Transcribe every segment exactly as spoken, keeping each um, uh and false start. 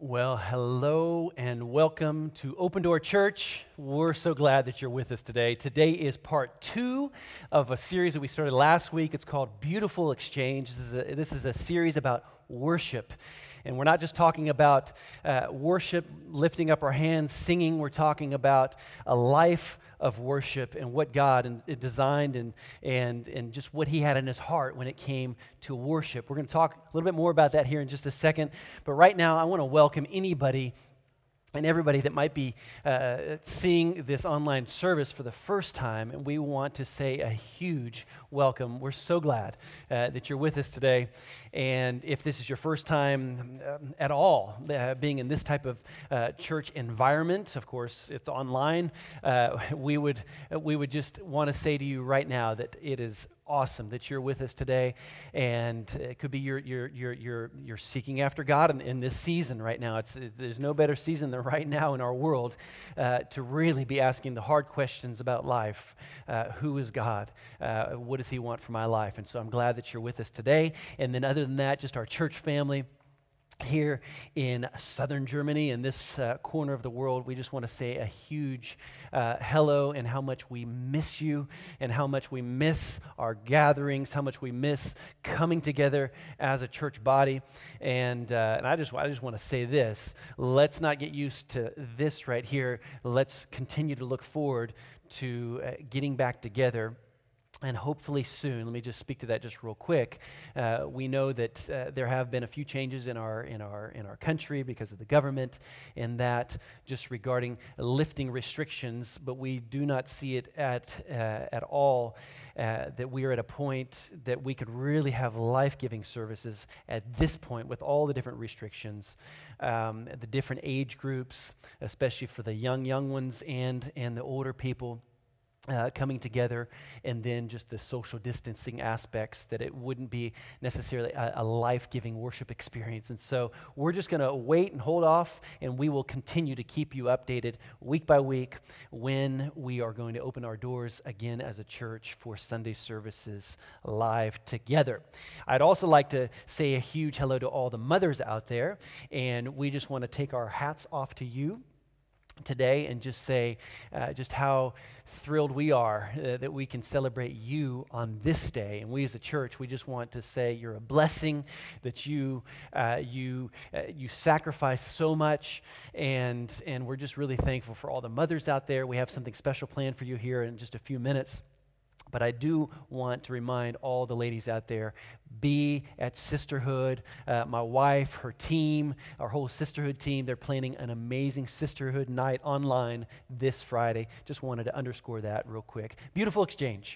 Well, hello and welcome to Open Door Church. We're so glad that you're with us today. Today is part two of a series that we started last week. It's called Beautiful Exchange. This is a, this is a series about worship. And we're not just talking about uh, worship, lifting up our hands, singing. We're talking about a life of worship and what God and, and designed and, and, and just what He had in His heart when it came to worship. We're going to talk a little bit more about that here in just a second. But right now, I want to welcome anybody and everybody that might be uh, seeing this online service for the first time, and we want to say a huge welcome. We're so glad uh, that you're with us today, and if this is your first time um, at all uh, being in this type of uh, church environment, of course it's online, uh, we would we would just want to say to you right now that it is awesome that you're with us today, and it could be you're you're you're you're, you're seeking after God in, in this season right now. It's it, there's no better season than right now in our world uh, to really be asking the hard questions about life. Uh, who is God? Uh, what does He want for my life? And so I'm glad that you're with us today. And then other than that, just our church family here in southern Germany, in this uh, corner of the world, we just want to say a huge uh, hello and how much we miss you and how much we miss our gatherings, how much we miss coming together as a church body. And uh, and I just I just want to say this: let's not get used to this right here. Let's continue to look forward to uh, getting back together. And hopefully soon, let me just speak to that just real quick. Uh, we know that uh, there have been a few changes in our in our in our country because of the government, and that just regarding lifting restrictions. But we do not see it at uh, at all uh, that we are at a point that we could really have life-giving services at this point with all the different restrictions, um, the different age groups, especially for the young young ones and and the older people. Uh, coming together, and then just the social distancing aspects, that it wouldn't be necessarily a, a life-giving worship experience. And so we're just going to wait and hold off, and we will continue to keep you updated week by week when we are going to open our doors again as a church for Sunday services live together. I'd also like to say a huge hello to all the mothers out there, and we just want to take our hats off to you today and just say uh, just how thrilled we are uh, that we can celebrate you on this day. And we as a church, we just want to say you're a blessing, that you uh, you uh, you sacrifice so much, and and we're just really thankful for all the mothers out there. We have something special planned for you here in just a few minutes. But I do want to remind all the ladies out there, be at Sisterhood. Uh, my wife, her team, our whole Sisterhood team, they're planning an amazing Sisterhood night online this Friday. Just wanted to underscore that real quick. Beautiful exchange.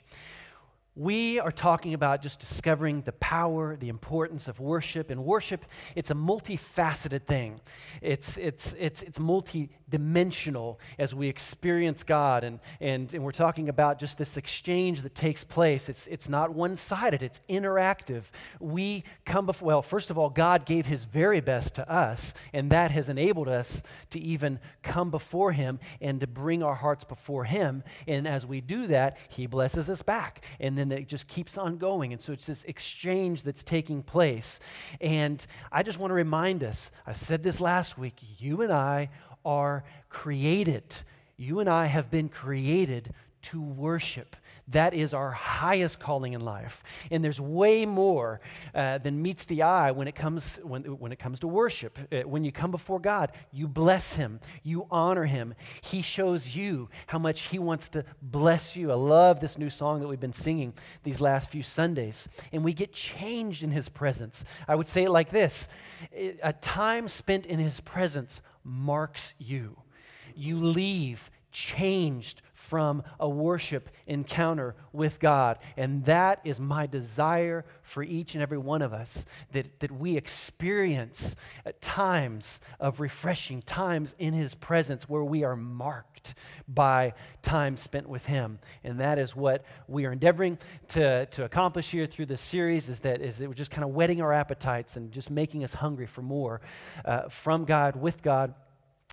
We are talking about just discovering the power, the importance of worship. And worship, it's a multifaceted thing. It's it's it's it's multi-dimensional as we experience God. And, and and we're talking about just this exchange that takes place. It's it's not one-sided, it's interactive. We come before, well, first of all, God gave His very best to us, and that has enabled us to even come before Him and to bring our hearts before Him. And as we do that, He blesses us back. And then it just keeps on going. And so it's this exchange that's taking place. And I just want to remind us, I said this last week, you and I are created. You and I have been created to worship. That is our highest calling in life. And there's way more uh, than meets the eye when it comes when, when it comes to worship. Uh, when you come before God, you bless Him, you honor Him. He shows you how much He wants to bless you. I love this new song that we've been singing these last few Sundays. And we get changed in His presence. I would say it like this: a time spent in His presence marks you. You leave changed from a worship encounter with God. And that is my desire for each and every one of us, that, that we experience at times of refreshing, times in His presence where we are marked by time spent with Him. And that is what we are endeavoring to, to accomplish here through this series, is that, is that we're just kind of whetting our appetites and just making us hungry for more uh, from God, with God,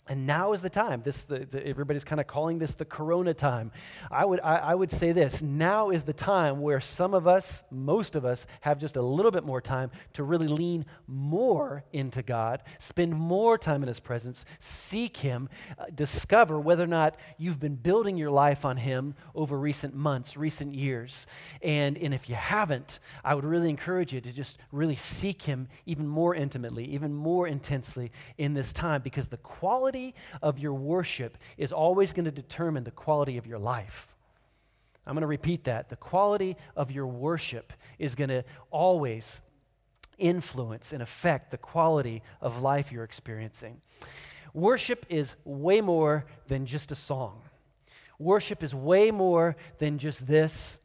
And now is the time. This the, the, everybody's kind of calling this the Corona time. I would I, I would say this. Now is the time where some of us, most of us, have just a little bit more time to really lean more into God, spend more time in His presence, seek Him, uh, discover whether or not you've been building your life on Him over recent months, recent years. And, and if you haven't, I would really encourage you to just really seek Him even more intimately, even more intensely in this time, because the quality of your worship is always going to determine the quality of your life. I'm going to repeat that. The quality of your worship is going to always influence and affect the quality of life you're experiencing. Worship is way more than just a song. Worship is way more than just this.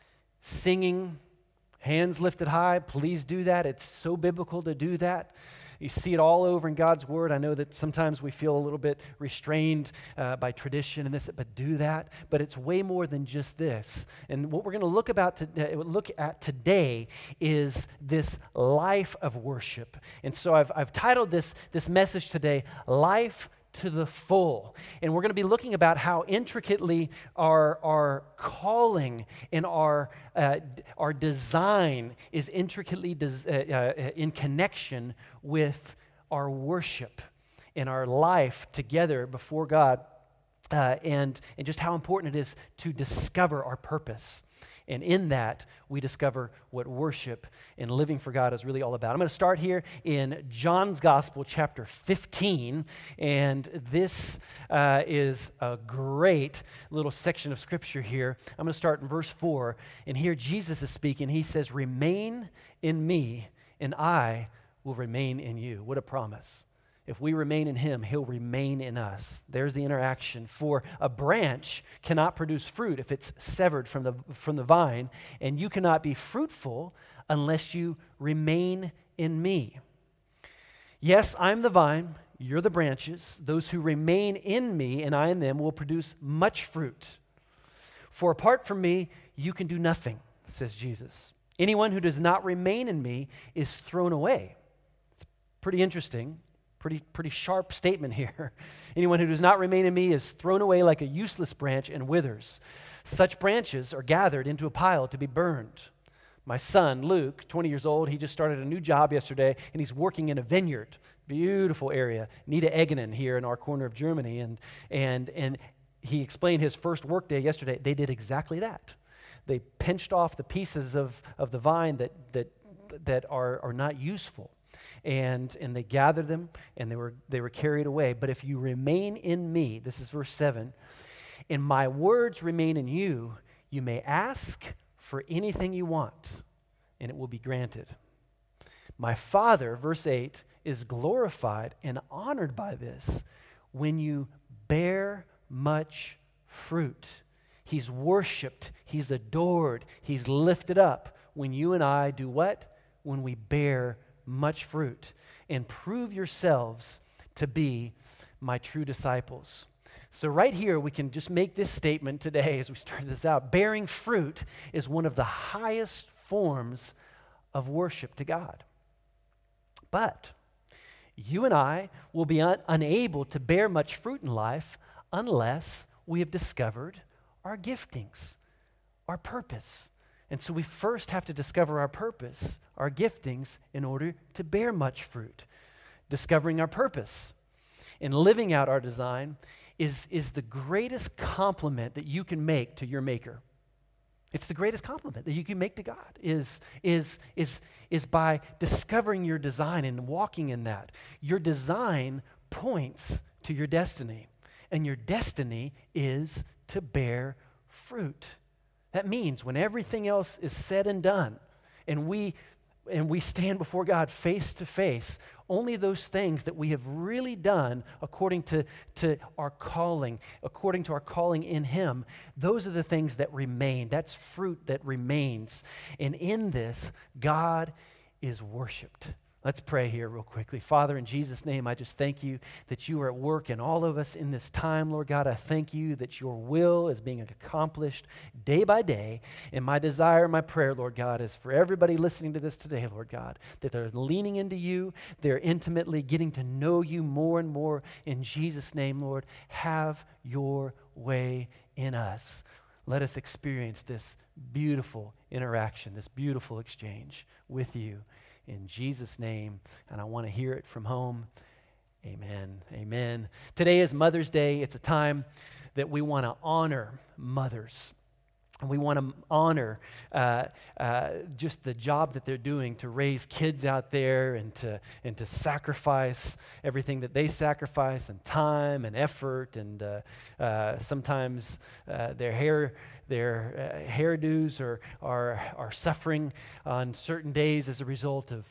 Singing, hands lifted high, please do that. It's so biblical to do that. You see it all over in God's Word. I know that sometimes we feel a little bit restrained uh, by tradition and this, but do that. But it's way more than just this. And what we're going to look about to, uh, look at today is this life of worship. And so I've I've titled this this message today, "Life to the Full." And we're going to be looking about how intricately our, our calling and our, uh, our design is intricately des- uh, uh, in connection with our worship and our life together before God, uh, and, and just how important it is to discover our purpose. And in that, we discover what worship and living for God is really all about. I'm going to start here in John's Gospel, chapter fifteen. And this uh, is a great little section of Scripture here. I'm going to start in verse four. And here Jesus is speaking. He says, "Remain in me, and I will remain in you." What a promise. If we remain in Him, He'll remain in us. There's the interaction. For a branch cannot produce fruit if it's severed from the, from the vine, and you cannot be fruitful unless you remain in me. Yes, I'm the vine, you're the branches. Those who remain in me and I in them will produce much fruit. For apart from me, you can do nothing, says Jesus. Anyone who does not remain in me is thrown away. It's pretty interesting. Pretty, pretty sharp statement here. Anyone who does not remain in me is thrown away like a useless branch and withers. Such branches are gathered into a pile to be burned. My son, Luke, twenty years old, he just started a new job yesterday, and he's working in a vineyard. Beautiful area. Niederegenen here in our corner of Germany. And, and, and he explained his first work day yesterday. They did exactly that. They pinched off the pieces of, of the vine that, that, that are, are not useful. And and they gathered them, and they were they were carried away. But if you remain in me, this is verse seven, and my words remain in you, you may ask for anything you want, and it will be granted. My Father, verse eight, is glorified and honored by this when you bear much fruit. He's worshiped, He's adored, He's lifted up when you and I do what? When we bear much fruit, and prove yourselves to be my true disciples. So right here, we can just make this statement today as we start this out. Bearing fruit is one of the highest forms of worship to God. But you and I will be un- unable to bear much fruit in life unless we have discovered our giftings, our purpose. And so we first have to discover our purpose, our giftings, in order to bear much fruit. Discovering our purpose and living out our design is, is the greatest compliment that you can make to your Maker. It's the greatest compliment that you can make to God, is, is, is, is by discovering your design and walking in that. Your design points to your destiny, and your destiny is to bear fruit. That means when everything else is said and done, and we and we stand before God face to face, only those things that we have really done according to, to our calling, according to our calling in Him, those are the things that remain. That's fruit that remains. And in this, God is worshiped. Let's pray here real quickly. Father, in Jesus' name, I just thank you that you are at work in all of us in this time, Lord God. I thank you that your will is being accomplished day by day. And my desire, my prayer, Lord God, is for everybody listening to this today, Lord God, that they're leaning into you, they're intimately getting to know you more and more. In Jesus' name, Lord, have your way in us. Let us experience this beautiful interaction, this beautiful exchange with you. In Jesus' name, and I want to hear it from home. Amen. Amen. Today is Mother's Day. It's a time that we want to honor mothers. And we want to honor uh, uh, just the job that they're doing to raise kids out there and to and to sacrifice everything that they sacrifice, and time and effort, and uh, uh, sometimes uh, their hair. Their uh, hairdos are, are are suffering on certain days as a result of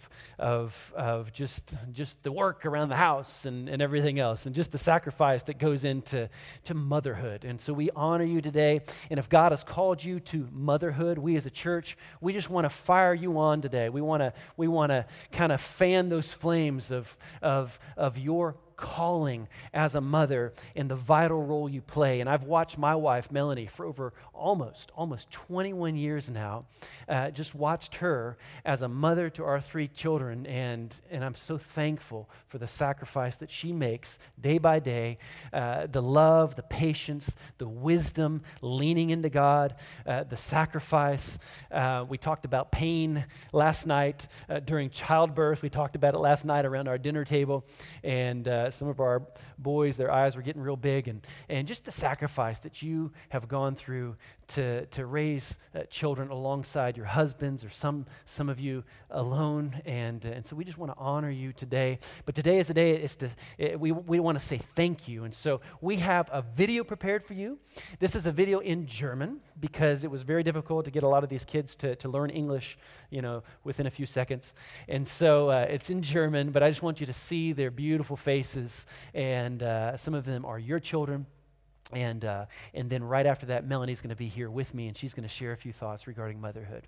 of of just just the work around the house and, and everything else, and just the sacrifice that goes into to motherhood. And so we honor you today. And if God has called you to motherhood, we as a church, we just want to fire you on today. We want to we want to kind of fan those flames of of of your calling as a mother and the vital role you play. And I've watched my wife, Melanie, for over almost, almost twenty-one years now, uh, just watched her as a mother to our three children, and, and I'm so thankful for the sacrifice that she makes day by day, uh, the love, the patience, the wisdom, leaning into God, uh, the sacrifice. Uh, we talked about pain last night uh, during childbirth. We talked about it last night around our dinner table, and uh, some of our boys, their eyes were getting real big, and, and just the sacrifice that you have gone through to, to raise uh, children alongside your husbands, or some some of you alone, and uh, and so we just want to honor you today. But today is a day, it's to, it, we, we want to say thank you, and so we have a video prepared for you. This is a video in German, because it was very difficult to get a lot of these kids to, to learn English, you know, within a few seconds, and so uh, it's in German, but I just want you to see their beautiful faces, and uh, some of them are your children. And uh, and then right after that, Melanie's going to be here with me, and she's going to share a few thoughts regarding motherhood.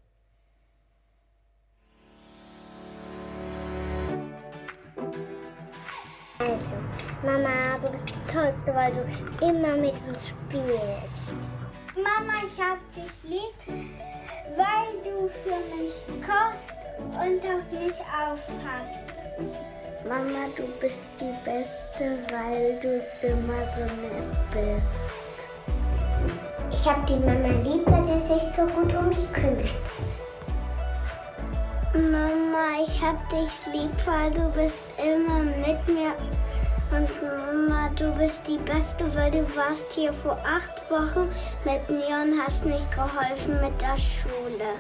Also, Mama, du bist die Tollste, weil du immer mit uns spielst. Mama, ich hab dich lieb, weil du für mich kochst und auf mich aufpasst. Mama, du bist die Beste, weil du immer so nett bist. Ich hab die Mama lieb, weil sie sich so gut um mich kümmert. Mama, ich hab dich lieb, weil du bist immer mit mir. Und Mama, du bist die Beste, weil du warst hier vor acht Wochen mit mir und hast mich geholfen mit der Schule.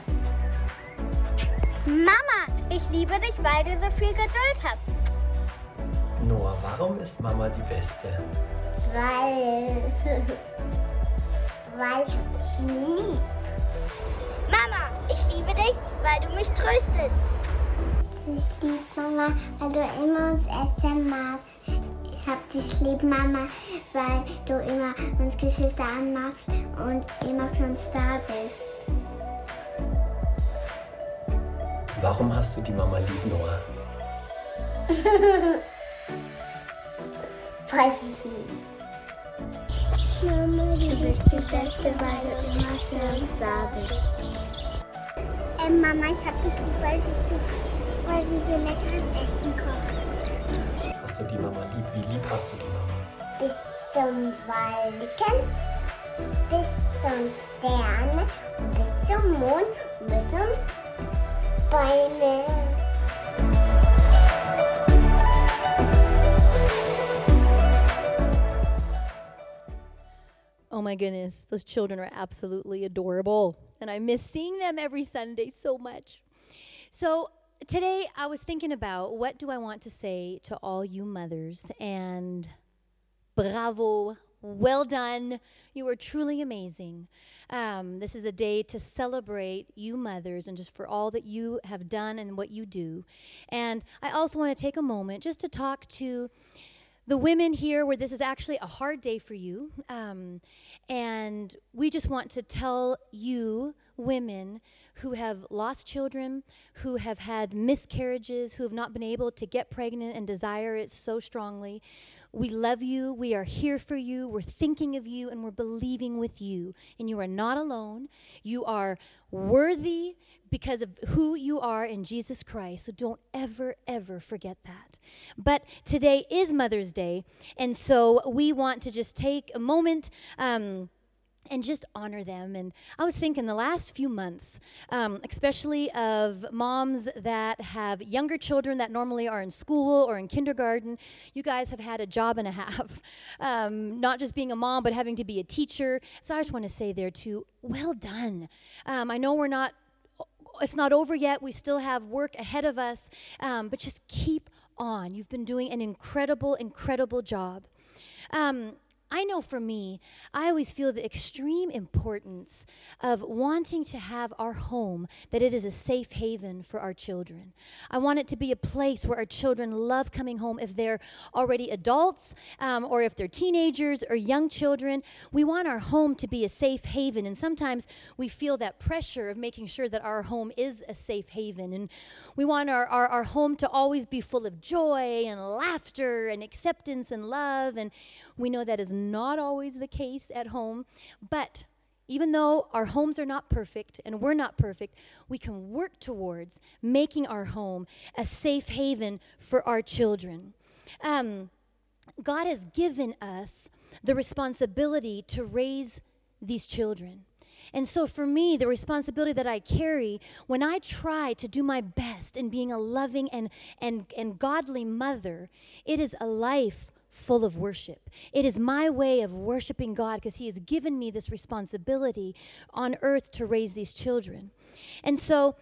Mama, ich liebe dich, weil du so viel Geduld hast. Noah, warum ist Mama die Beste? Weil... weil ich hab dich lieb. Mama, ich liebe dich, weil du mich tröstest. Ich liebe Mama, weil du immer uns Essen machst. Ich hab dich lieb, Mama, weil du immer uns Geschwister anmachst und immer für uns da bist. Warum hast du die Mama lieb, Noah? Weiß ich nicht. Mama, du bist die Beste, weil du immer für uns da bist. Ähm, Mama, ich hab dich lieb, weil du so, weil du so leckeres Essen kochst. Hast du die Mama lieb? Wie lieb hast du die Mama? Bis zum Wolken, bis zum Sterne, bis zum Mond, bis zum Bäume. Oh my goodness, those children are absolutely adorable, and I miss seeing them every Sunday so much. So today I was thinking about, what do I want to say to all you mothers, and bravo, well done, you are truly amazing. Um, this is a day to celebrate you mothers and just for all that you have done and what you do. And I also want to take a moment just to talk to the women here where this is actually a hard day for you, um, and we just want to tell you women who have lost children, who have had miscarriages, who have not been able to get pregnant and desire it so strongly. We love you. We are here for you. We're thinking of you, and we're believing with you. And you are not alone. You are worthy because of who you are in Jesus Christ. So don't ever, ever forget that. But today is Mother's Day, and so we want to just take a moment um, and just honor them. And I was thinking the last few months, um, especially of moms that have younger children that normally are in school or in kindergarten. You guys have had a job and a half, um, not just being a mom, but having to be a teacher. So I just want to say there too, well done. Um, I know we're not, it's not over yet. We still have work ahead of us, um, but just keep on. You've been doing an incredible, incredible job. Um, I know for me, I always feel the extreme importance of wanting to have our home, that it is a safe haven for our children. I want it to be a place where our children love coming home if they're already adults um, or if they're teenagers or young children. We want our home to be a safe haven, and sometimes we feel that pressure of making sure that our home is a safe haven, and we want our, our, our home to always be full of joy and laughter and acceptance and love, and we know that is not always the case at home, but even though our homes are not perfect and we're not perfect, we can work towards making our home a safe haven for our children. Um, God has given us the responsibility to raise these children. And so for me, the responsibility that I carry when I try to do my best in being a loving and, and, and godly mother, it is a life full of worship. It is my way of worshiping God because He has given me this responsibility on earth to raise these children. And so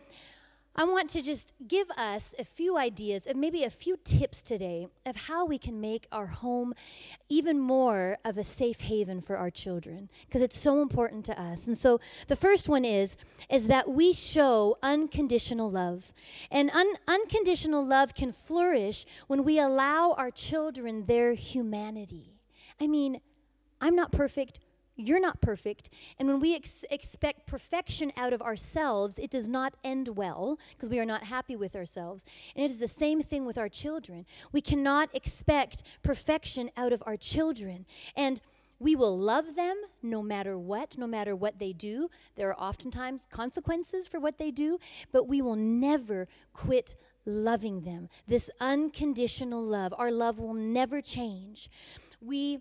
I want to just give us a few ideas and maybe a few tips today of how we can make our home even more of a safe haven for our children, because it's so important to us. And so the first one is, is that we show unconditional love. And un- unconditional love can flourish when we allow our children their humanity. I mean, I'm not perfect. You're not perfect, and when we ex- expect perfection out of ourselves, it does not end well because we are not happy with ourselves. And it is the same thing with our children. We cannot expect perfection out of our children, and we will love them no matter what, no matter what they do. There are oftentimes consequences for what they do, but we will never quit loving them. This unconditional love, our love will never change. We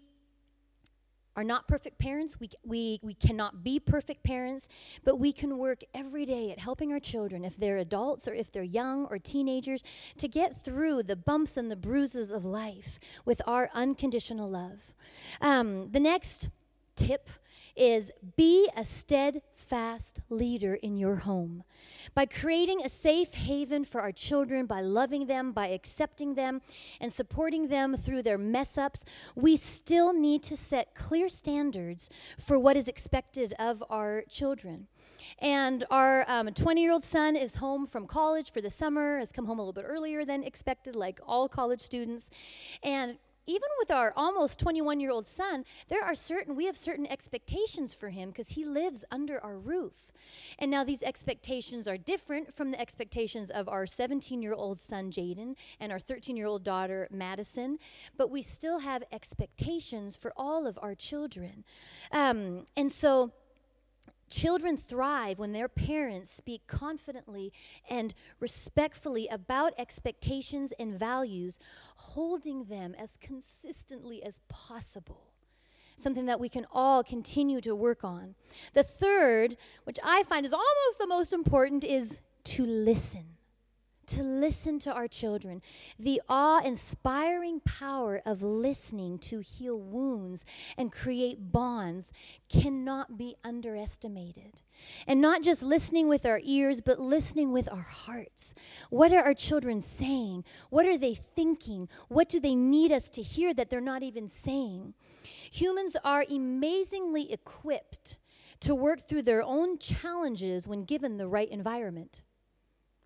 are not perfect parents. We, we, we cannot be perfect parents, but we can work every day at helping our children, if they're adults or if they're young or teenagers, to get through the bumps and the bruises of life with our unconditional love. Um, the next tip is be a steadfast leader in your home. By creating a safe haven for our children, by loving them, by accepting them, and supporting them through their mess-ups, we still need to set clear standards for what is expected of our children. And our um, twenty-year-old son is home from college for the summer, has come home a little bit earlier than expected, like all college students. And even with our almost twenty-one-year-old son, there are certain, we have certain expectations for him because he lives under our roof. And now these expectations are different from the expectations of our seventeen-year-old son, Jaden, and our thirteen-year-old daughter, Madison, but we still have expectations for all of our children. Um, and so children thrive when their parents speak confidently and respectfully about expectations and values, holding them as consistently as possible. Something that we can all continue to work on. The third, which I find is almost the most important, is to listen. To listen to our children. The awe-inspiring power of listening to heal wounds and create bonds cannot be underestimated. And not just listening with our ears, but listening with our hearts. What are our children saying? What are they thinking? What do they need us to hear that they're not even saying? Humans are amazingly equipped to work through their own challenges when given the right environment.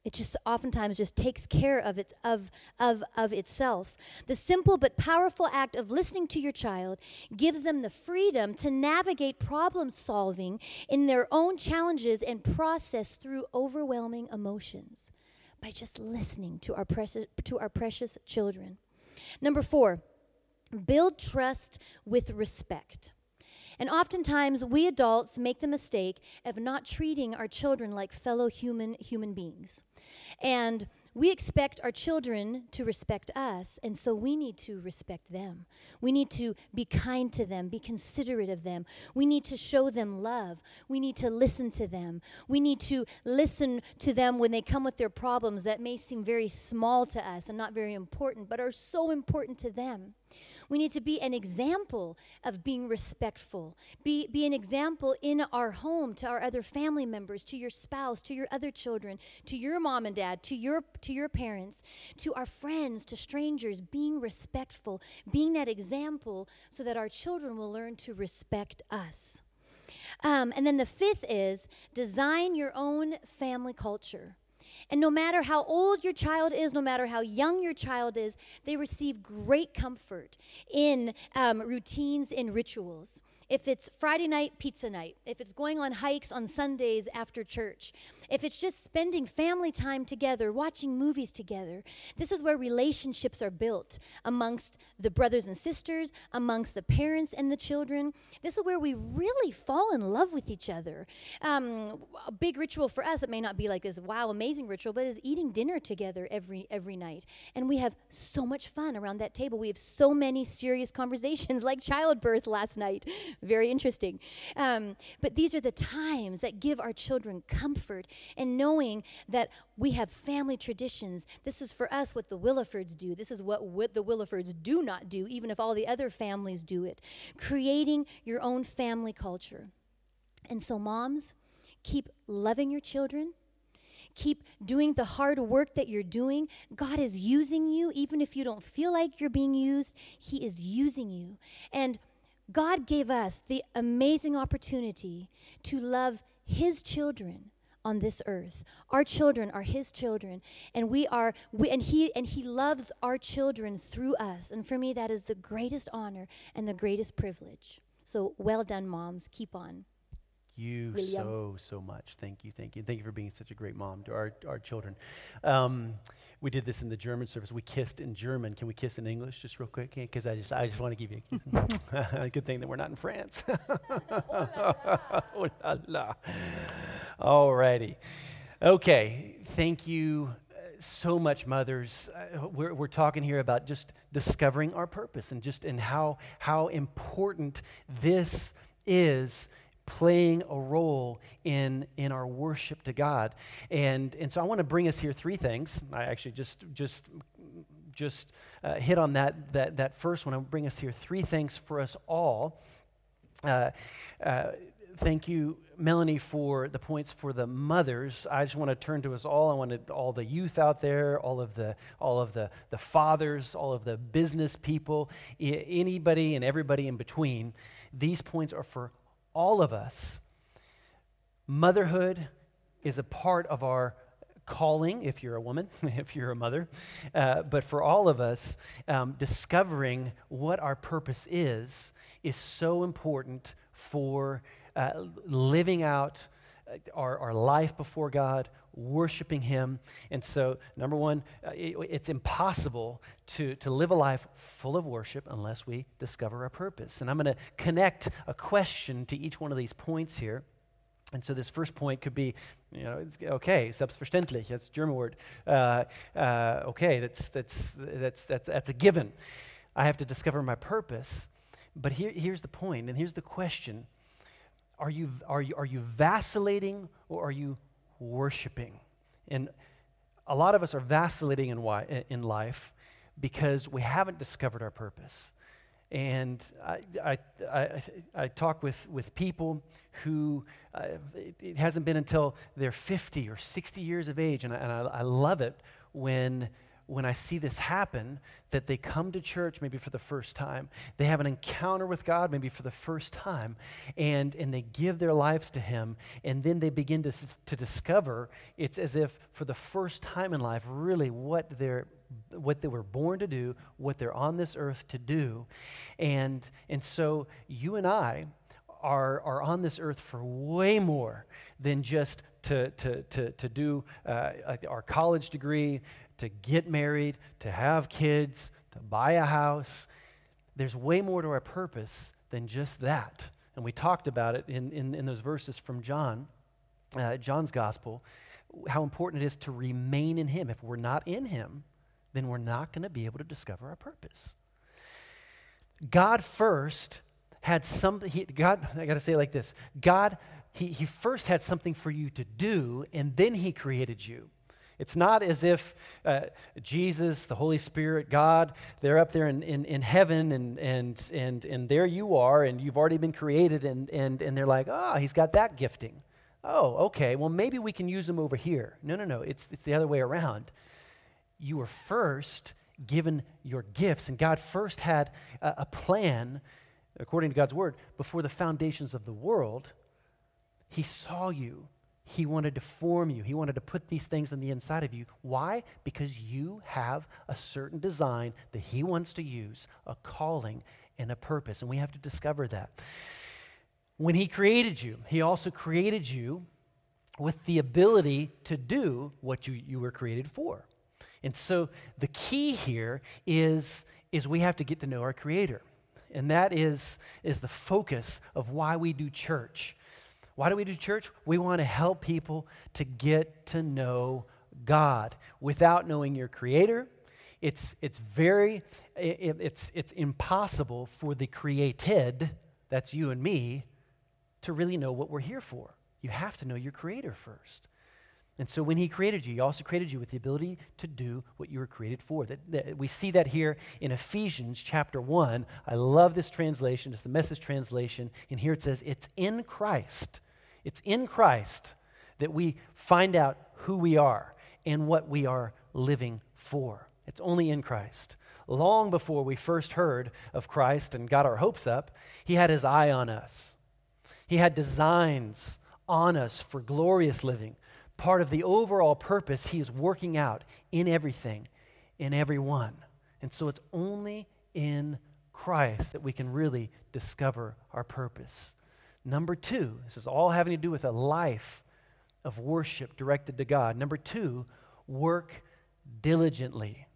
It just oftentimes just takes care of its of of of itself. The simple but powerful act of listening to your child gives them the freedom to navigate problem solving in their own challenges and process through overwhelming emotions by just listening to our precious to our precious children. Number four, build trust with respect. And oftentimes, we adults make the mistake of not treating our children like fellow human human beings. And we expect our children to respect us, and so we need to respect them. We need to be kind to them, be considerate of them. We need to show them love. We need to listen to them. We need to listen to them when they come with their problems that may seem very small to us and not very important, but are so important to them. We need to be an example of being respectful. Be, be an example in our home to our other family members, to your spouse, to your other children, to your mom and dad, to your to your parents, to our friends, to strangers, being respectful, being that example so that our children will learn to respect us. Um, and then the fifth is design your own family culture. And no matter how old your child is, no matter how young your child is, they receive great comfort in um, routines and rituals. If it's Friday night pizza night, if it's going on hikes on Sundays after church, if it's just spending family time together, watching movies together, this is where relationships are built amongst the brothers and sisters, amongst the parents and the children. This is where we really fall in love with each other. Um, a big ritual for us, it may not be like this wow, amazing ritual, but is eating dinner together every every night. And we have so much fun around that table. We have so many serious conversations like childbirth last night. Very interesting. Um, but these are the times that give our children comfort and knowing that we have family traditions. This is for us what the Willafords do. This is what, what the Willafords do not do, even if all the other families do it. Creating your own family culture. And so moms, keep loving your children. Keep doing the hard work that you're doing. God is using you, even if you don't feel like you're being used. He is using you. And God gave us the amazing opportunity to love His children on this earth. Our children are His children, and we are we and he and he loves our children through us. And for me, that is the greatest honor and the greatest privilege. So well done, moms. Keep on. You William. so, so much. Thank you, thank you. Thank you for being such a great mom to our, our children. Um, we did this in the German service. We kissed in German. Can we kiss in English just real quick? Because I just I just want to give you a kiss. Good thing that we're not in France. Oh la la. All righty. Okay, thank you so much, mothers. Uh, we're, we're talking here about just discovering our purpose and just and how how important this is, playing a role in in our worship to God. And and so I want to bring us here three things. I actually just just just uh, hit on that that that first one. I want to bring us here three things for us all. Uh, uh, thank you, Melanie, for the points for the mothers. I just want to turn to us all. I wanted all the youth out there, all of the all of the the fathers, all of the business people, I- anybody and everybody in between. These points are for all of us. Motherhood is a part of our calling, if you're a woman, if you're a mother. Uh, but for all of us, um, discovering what our purpose is, is so important for uh, living out our, our life before God, worshiping Him. And so, number one, uh, it, it's impossible to, to live a life full of worship unless we discover our purpose. And I'm going to connect a question to each one of these points here. And so this first point could be, you know, it's, okay, selbstverständlich, that's a German word. Uh, uh, okay, that's, that's, that's, that's, that's a given. I have to discover my purpose. But here, here's the point, and here's the question. Are you, are you, are you vacillating, or are you worshiping? And a lot of us are vacillating in, wi- in life because we haven't discovered our purpose. And I, I, I, I talk with, with people who, uh, it, it hasn't been until they're fifty or sixty years of age, and I, and I, I love it when when I see this happen, that they come to church maybe for the first time, they have an encounter with God maybe for the first time, and, and they give their lives to him, and then they begin to, to discover, it's as if for the first time in life, really what they're what they were born to do, what they're on this earth to do. And, and so you and I are, are on this earth for way more than just to, to, to, to do uh, our college degree, to get married, to have kids, to buy a house. There's way more to our purpose than just that. And we talked about it in, in, in those verses from John, uh, John's gospel, how important it is to remain in him. If we're not in him, then we're not going to be able to discover our purpose. God first had something, he, God, I got to say it like this. God, he, he first had something for you to do, and then he created you. It's not as if uh, Jesus, the Holy Spirit, God, they're up there in, in, in heaven, and, and, and, and there you are, and you've already been created, and, and, and they're like, oh, he's got that gifting. Oh, okay, well, maybe we can use him over here. No, no, no, it's, it's the other way around. You were first given your gifts, and God first had a, a plan, according to God's word, before the foundations of the world. He saw you. He wanted to form you. He wanted to put these things on the inside of you. Why? Because you have a certain design that he wants to use, a calling and a purpose, and we have to discover that. When he created you, he also created you with the ability to do what you, you were created for. And so the key here is, is we have to get to know our Creator. And that is, is the focus of why we do church. Why do we do church? We want to help people to get to know God. Without knowing your Creator, it's, it's very, it, it's, it's impossible for the created, that's you and me, to really know what we're here for. You have to know your Creator first. And so when he created you, he also created you with the ability to do what you were created for. That, that we see that here in Ephesians chapter one. I love this translation. It's the Message translation. And here it says, it's in Christ. It's in Christ that we find out who we are and what we are living for. It's only in Christ. Long before we first heard of Christ and got our hopes up, he had his eye on us. He had designs on us for glorious living. Part of the overall purpose he is working out in everything, in everyone. And so it's only in Christ that we can really discover our purpose. Number two, this is all having to do with a life of worship directed to God. Number two, work diligently.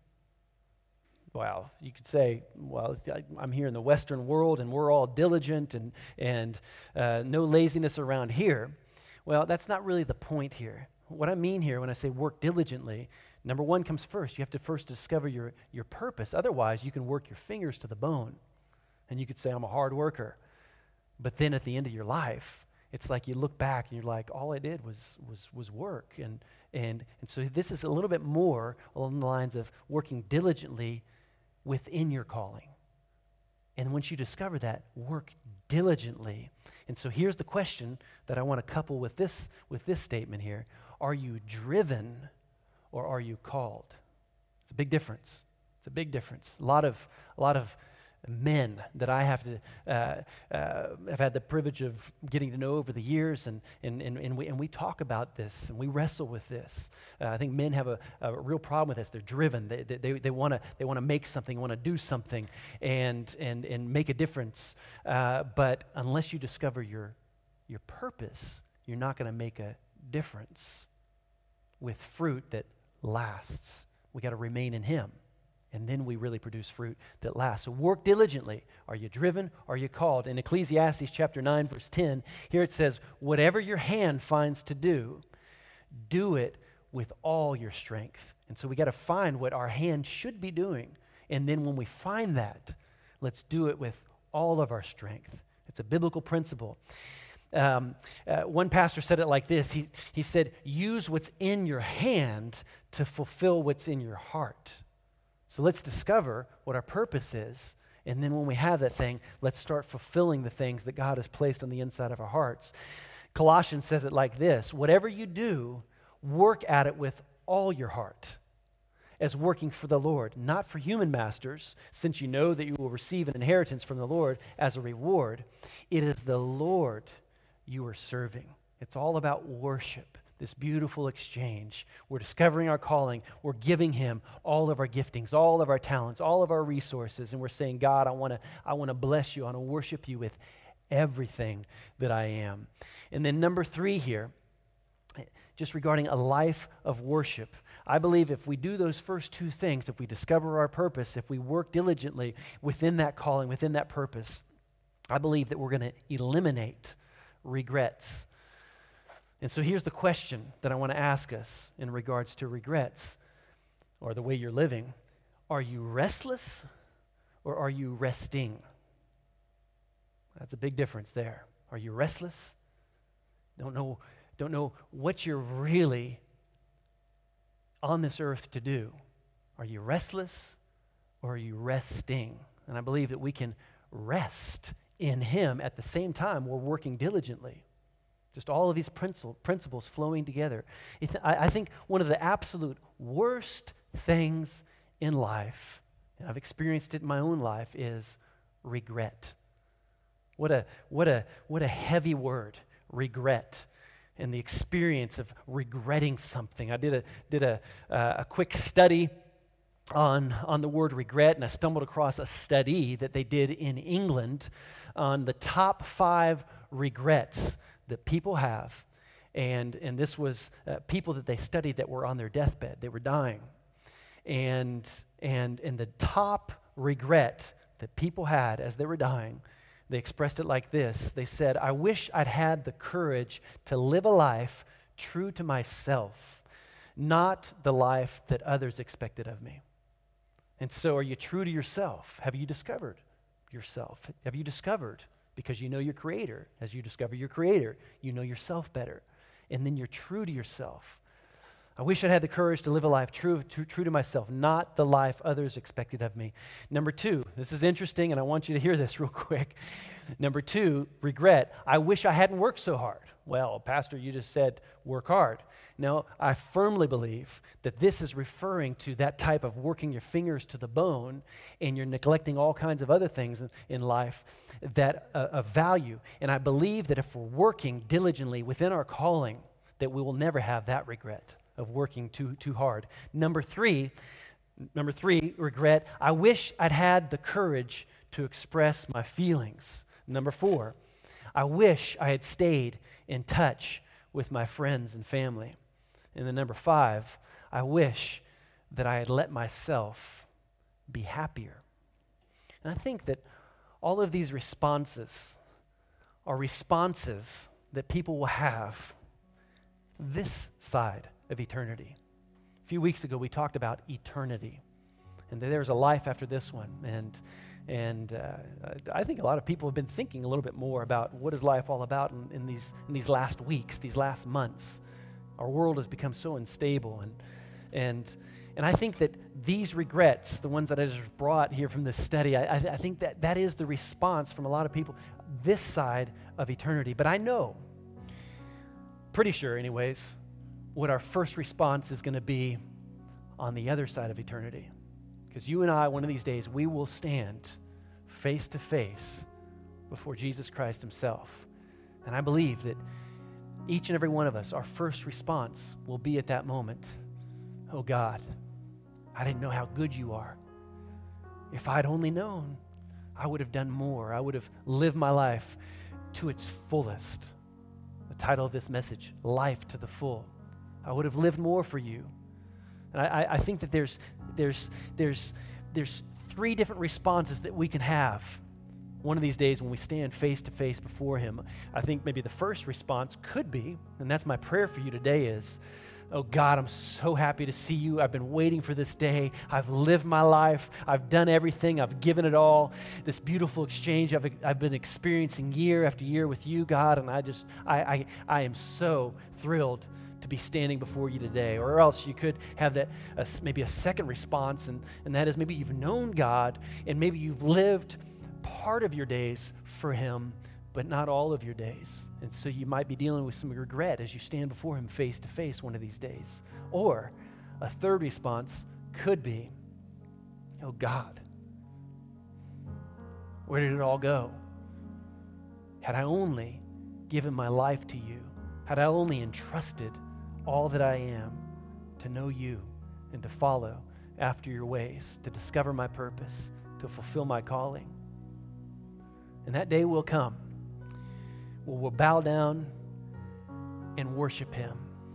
Well, you could say, well, I'm here in the Western world and we're all diligent and, and uh, no laziness around here. Well, that's not really the point here. What I mean here when I say work diligently, number one comes first. You have to first discover your, your purpose. Otherwise, you can work your fingers to the bone, and you could say, I'm a hard worker. But then at the end of your life, it's like you look back and you're like, all I did was was was work. And, and, and so this is a little bit more along the lines of working diligently within your calling. And once you discover that, work diligently. And so here's the question that I want to couple with this with this statement here. Are you driven or are you called? It's a big difference. It's a big difference. A lot of a lot of men that I have to uh, uh, have had the privilege of getting to know over the years, and and and, and we and we talk about this and we wrestle with this. Uh, I think men have a, a real problem with this. They're driven. They they they want to they want to make something, want to do something, and and and make a difference. Uh, but unless you discover your your purpose, you're not going to make a difference with fruit that lasts. We got to remain in Him. And then we really produce fruit that lasts. So work diligently. Are you driven? Are you called? In Ecclesiastes chapter nine, verse ten, here it says, whatever your hand finds to do, do it with all your strength. And so we got to find what our hand should be doing. And then when we find that, let's do it with all of our strength. It's a biblical principle. Um, uh, one pastor said it like this. He, he said, use what's in your hand to fulfill what's in your heart. So let's discover what our purpose is, and then when we have that thing, let's start fulfilling the things that God has placed on the inside of our hearts. Colossians says it like this, whatever you do, work at it with all your heart, as working for the Lord, not for human masters, since you know that you will receive an inheritance from the Lord as a reward. It is the Lord you are serving. It's all about worship, this beautiful exchange. We're discovering our calling. We're giving him all of our giftings, all of our talents, all of our resources, and we're saying, God, I want to I want to bless you. I want to worship you with everything that I am. And then number three here, just regarding a life of worship. I believe if we do those first two things, if we discover our purpose, if we work diligently within that calling, within that purpose, I believe that we're going to eliminate regrets. And so here's the question that I want to ask us in regards to regrets or the way you're living. Are you restless or are you resting? That's a big difference there. Are you restless? Don't know, don't know what you're really on this earth to do. Are you restless or are you resting? And I believe that we can rest in him at the same time we're working diligently. Just all of these principles, principles flowing together. I, I think one of the absolute worst things in life, and I've experienced it in my own life, is regret. What a what a what a heavy word, regret. And the experience of regretting something. I did a did a uh, a quick study on on the word regret, and I stumbled across a study that they did in England on the top five regrets that people have, and and this was uh, people that they studied that were on their deathbed, they were dying, and and and the top regret that people had as they were dying. They expressed it like this. They said, I wish I'd had the courage to live a life true to myself, not the life that others expected of me. And so are you true to yourself? Have you discovered yourself? Have you discovered, because you know your Creator, as you discover your Creator, you know yourself better. And then you're true to yourself. I wish I'd had the courage to live a life true, true, true to myself, not the life others expected of me. Number two, this is interesting, and I want you to hear this real quick. Number two, regret. I wish I hadn't worked so hard. Well, Pastor, you just said work hard. No, I firmly believe that this is referring to that type of working your fingers to the bone, and you're neglecting all kinds of other things in, in life that uh, of value. And I believe that if we're working diligently within our calling, that we will never have that regret of working too too hard. Number three, number three, regret. I wish I'd had the courage to express my feelings. Number four, I wish I had stayed in touch with my friends and family. And then number five, I wish that I had let myself be happier. And I think that all of these responses are responses that people will have this side of eternity. A few weeks ago, we talked about eternity, and that there's a life after this one. And and uh, I think a lot of people have been thinking a little bit more about what is life all about in, in these in these last weeks, these last months. Our world has become so unstable, and and and I think that these regrets, the ones that I just brought here from this study, I, I think that that is the response from a lot of people this side of eternity. But I know, pretty sure, anyways, what our first response is going to be on the other side of eternity. Because you and I, one of these days, we will stand face to face before Jesus Christ himself. And I believe that each and every one of us, our first response will be at that moment, oh God, I didn't know how good you are. If I'd only known, I would have done more. I would have lived my life to its fullest. The title of this message, Life to the Full. I would have lived more for you. And I, I think that there's there's there's there's three different responses that we can have one of these days when we stand face to face before him. I think maybe the first response could be, and that's my prayer for you today, is, oh God, I'm so happy to see you. I've been waiting for this day. I've lived my life. I've done everything. I've given it all. This beautiful exchange I've, I've been experiencing year after year with you, God, and I just, I, I, I am so thrilled to be standing before you today. Or else you could have that uh, maybe a second response, and, and that is maybe you've known God, and maybe you've lived part of your days for him, but not all of your days. And so you might be dealing with some regret as you stand before him face to face one of these days. Or a third response could be. Oh God, where did it all go? Had I only given my life to you, had I only entrusted all that I am to know you and to follow after your ways, to discover my purpose, to fulfill my calling. And that day will come where we'll bow down and worship him.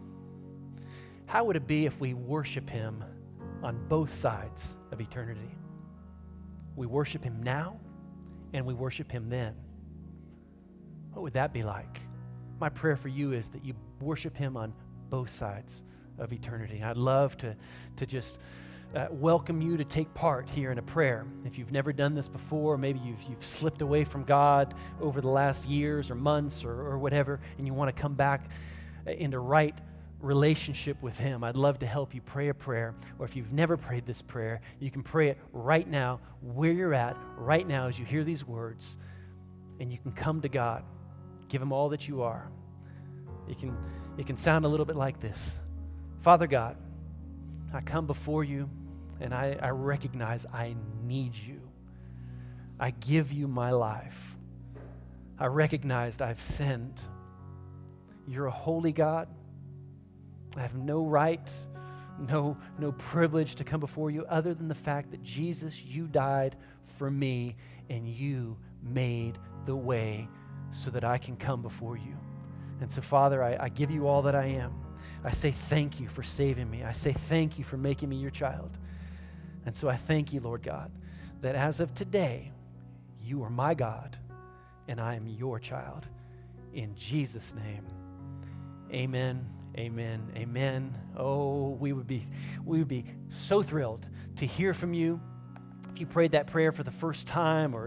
How would it be if we worship him on both sides of eternity? We worship him now and we worship him then. What would that be like? My prayer for you is that you worship him on both sides of eternity. I'd love to, to just uh, welcome you to take part here in a prayer. If you've never done this before, maybe you've, you've slipped away from God over the last years or months or, or whatever, and you want to come back into right relationship with him, I'd love to help you pray a prayer. Or if you've never prayed this prayer, you can pray it right now, where you're at, right now as you hear these words, and you can come to God. Give him all that you are. It can, it can sound a little bit like this. Father God, I come before you and I, I recognize I need you. I give you my life. I recognize I've sinned. You're a holy God. I have no right, no, no privilege to come before you other than the fact that Jesus, you died for me and you made the way so that I can come before you. And so, Father, I, I give you all that I am. I say thank you for saving me. I say thank you for making me your child. And so I thank you, Lord God, that as of today, you are my God and I am your child. In Jesus' name, amen, amen, amen. Oh, we would be, we would be so thrilled to hear from you. If you prayed that prayer for the first time, or